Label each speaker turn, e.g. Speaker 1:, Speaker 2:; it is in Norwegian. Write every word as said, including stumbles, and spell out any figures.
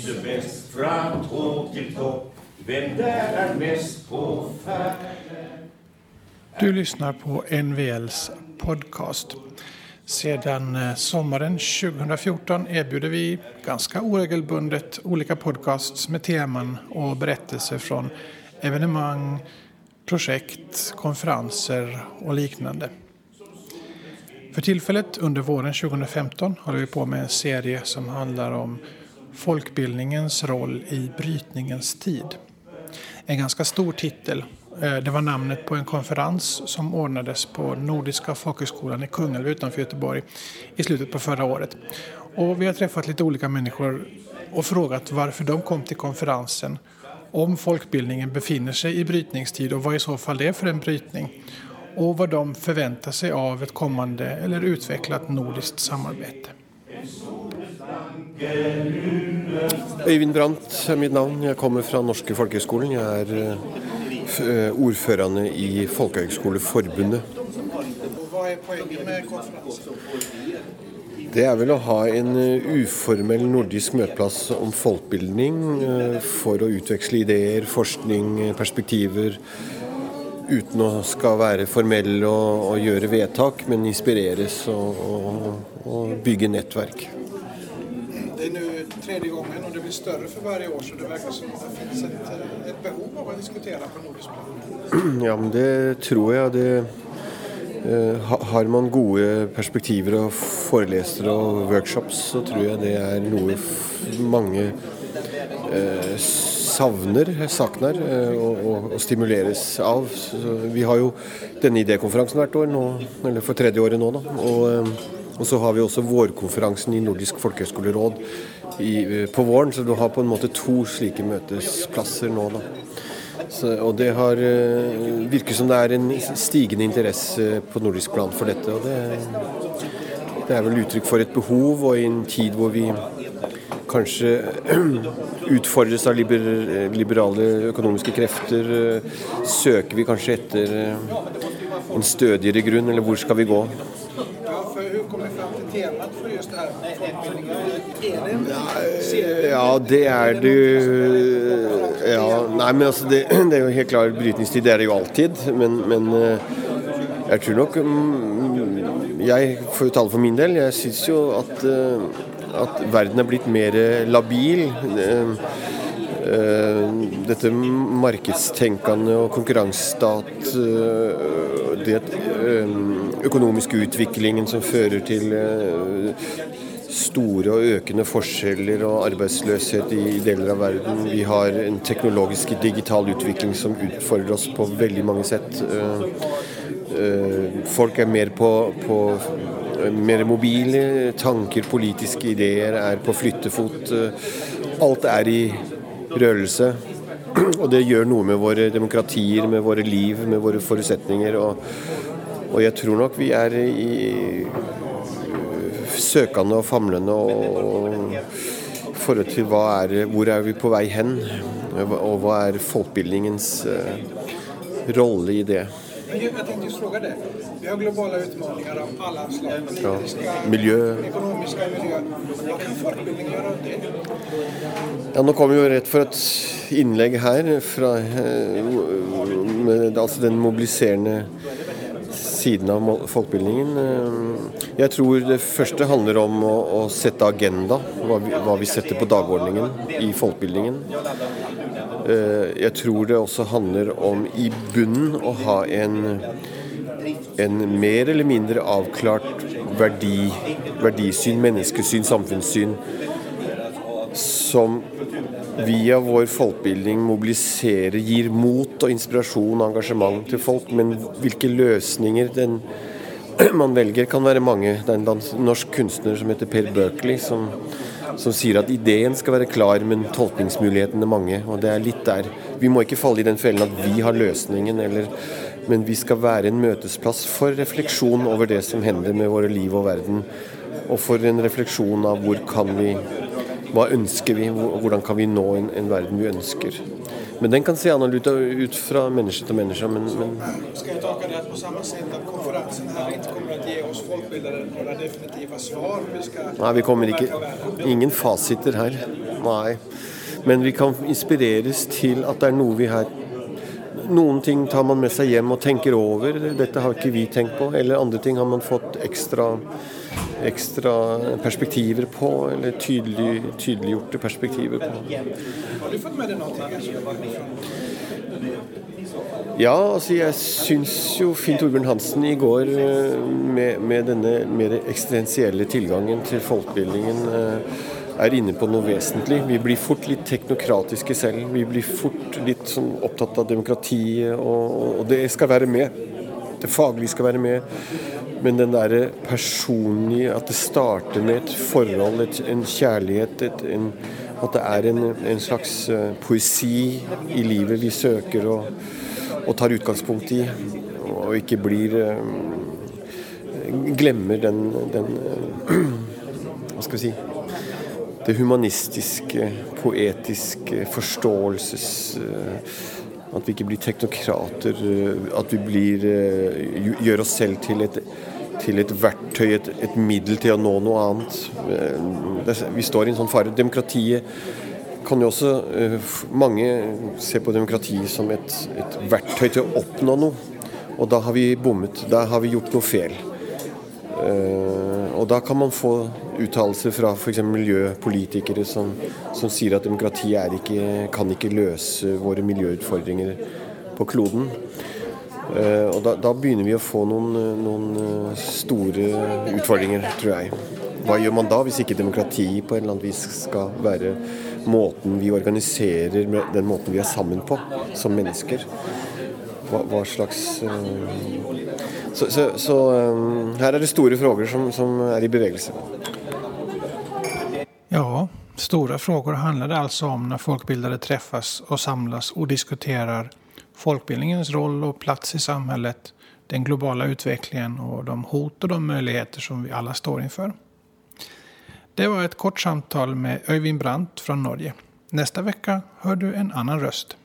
Speaker 1: lyser bäst från topp till topp. Vem där är mest på färden?
Speaker 2: Du lyssnar på N V L:s podcast. Sedan sommaren tjugohundrafjorton erbjuder vi ganska oregelbundet olika podcasts med teman och berättelser från evenemang, projekt, konferenser och liknande. För tillfället under våren tjugohundrafemton håller vi på med en serie som handlar om folkbildningens roll i brytningens tid. En ganska stor titel. Det var namnet på en konferens som ordnades på Nordiska folkhögskolan i Kungälv utanför Göteborg i slutet på förra året. Och vi har träffat lite olika människor och frågat varför de kom till konferensen, om folkbildningen befinner sig i brytningstid och vad i så fall det är för en brytning, och vad de förväntar sig av ett kommande eller utvecklat nordiskt samarbete.
Speaker 3: Øyvind Brandt er mitt navn. Jeg kommer fra Norske Folkehøgskolen. Jeg er ordførende i Folkehøgskoleforbundet.
Speaker 2: Hva er poenget med konferansen?
Speaker 3: Det er vel å ha en uformell nordisk møteplass om folkbildning for å utveksle ideer, forskning, perspektiver, uten å skal være formell og, og gjøre vedtak, men inspireres og, og, og bygge nettverk.
Speaker 2: Det är nu tredje gången och det blir större för varje år, så det verkar som att det finns ett, ett behov av att diskutera på nordisk plan.
Speaker 3: Ja, men det tror jeg. Det, eh, har man gode perspektiver og forelesere og workshops, så tror jeg det er noe f- mange eh, savner, sakner eh, og, og, og stimuleres av. Så vi har jo denne idékonferansen hvert år nå, eller for tredje året nå da, og eh, Og så har vi også vårkonferansen i Nordisk Folkehøgskoleråd i, på våren, så du har på en måte to slike møtesplasser nå da. Så, og det har virker som det er en stigende interesse på nordisk plan for dette, og det, det er vel uttrykk for et behov, og i en tid hvor vi kanskje utfordres av liber, liberale økonomiske krefter, søker vi kanskje etter en stødigere grunn, eller hvor skal vi gå?
Speaker 2: Hur kommer ni fram till temat för just det här med folkbildningen? Är det en serie?
Speaker 3: Ja, det er det. Ja, nei, men altså, det, det er jo helt klart, brytningstid det er det jo alltid, men, men jeg tror nok, jeg får jo tale for min del, jeg synes jo at, at verden er blitt mer labil. Dette markedstenkende og konkurransestat, det økonomiske utviklingen som fører til store og økende forskjeller og arbeidsløshet i deler av verden. Vi har en teknologisk digital utvikling som utfordrer oss på veldig mange sett. Folk er mer på, på mer mobile, tanker, politiske ideer er på flyttefot. Alt er i rørelse, og det gjør noe med våre demokratier, med våre liv, med våre forutsetninger, og, og jeg tror nok vi er i søkende og famlende og forhold til hva er, hvor er vi på vei hen, og hva er folkbildningens uh, rolle i det.
Speaker 2: Jag tänkte just fråga det. Vi har globala utmaningar av alla slag. Politiska,
Speaker 3: ja. Miljö.
Speaker 2: Ekonomiska miljö. Vad kan folkbildning göra av det?
Speaker 3: Ja, nå kommer vi jo rett for et innlegg her fra med, altså den mobiliserende siden av folkbildningen. Jeg tror det første handler om å, å sette agenda, hva vi, hva vi setter på dagordningen i folkbildningen. Jeg tror det også handler om i bunnen å ha en, en mer eller mindre avklart verdi, verdisyn, menneskesyn, samfunnssyn, som via vår folkbildning mobiliserer, gir mot og inspirasjon og engasjement til folk, men hvilke løsninger den man velger kan være mange. Det er en norsk kunstner som heter Per Berkeley, som, som sier at ideen skal være klar, men tolkningsmulighetene mange, og det er litt der. Vi må ikke falle i den fellen at vi har løsningen, eller, men vi skal være en møtesplass for refleksjon over det som hender med våre liv og verden, og for en refleksjon av hvor kan vi, hva ønsker vi, hvordan kan vi nå en, en verden vi ønsker. Men den kan se annerledes ut fra menneske til menneske. Men, men...
Speaker 2: Skal jeg tolke det på samme sett at konferansen her ikke kommer til å gi oss folkbildere noen definitive svar? Vi skal...
Speaker 3: Nei, vi kommer ikke... Ingen fasiter her. Nei. Men vi kan inspireres til at det er noe vi har. Noen ting tar man med seg hjem og tenker over. Dette har ikke vi tenkt på. Eller andre ting har man fått ekstra, ekstra perspektiver på. Eller tydelig, tydeliggjorte perspektiver på.
Speaker 2: Har du fått med deg noe?
Speaker 3: Ja, altså jeg syns jo Finn Torbjørn Hansen i går med, med denne mer eksistensielle tilgangen til folkebildningen er inne på noe vesentlig. Vi blir fort litt teknokratiske selv. Vi blir fort litt sånn opptatt av demokratiet, og, og det skal være med. Det faglige skal være med. Men den der personlige, at det starter med et forhold, et, en kjærlighet, et, en, at det er en, en slags poesi i livet vi søker og, og tar utgangspunkt i, og ikke blir glemmer den, den hva skal vi si, det humanistiske, poetiske, forståelses, at vi ikke blir teknokrater, at vi blir, gjør oss selv til et, til et verktøy, et, et middel til å nå noe annet. Vi står i en sånn fare. Demokratiet kan jo også, mange se på demokratiet som et, et verktøy til å oppnå noe, og da har vi bommet, da har vi gjort noe feil. Uh, og da kan man få uttalelser fra for eksempel miljøpolitikere som, som sier at demokrati er ikke, kan ikke løse våre miljøutfordringer på kloden. Uh, og da, da begynner vi å få noen, noen store utfordringer, tror jeg. Hva gjør man da hvis ikke demokrati på en eller annen vis skal være måten vi organiserer, den måten vi er sammen på som mennesker? Hva, hva slags... Uh, Så, så, så um, her er det store frågor som, som er i bevegelse.
Speaker 2: Ja, stora frågor handlar det alltså om när folkbildare träffas och samlas och diskuterar folkbildningens roll och plats i samhället, den globala utvecklingen och de hot och de möjligheter som vi alla står inför. Det var ett kort samtal med Øyvind Brandt från Norge. Nästa vecka hör du en annan röst.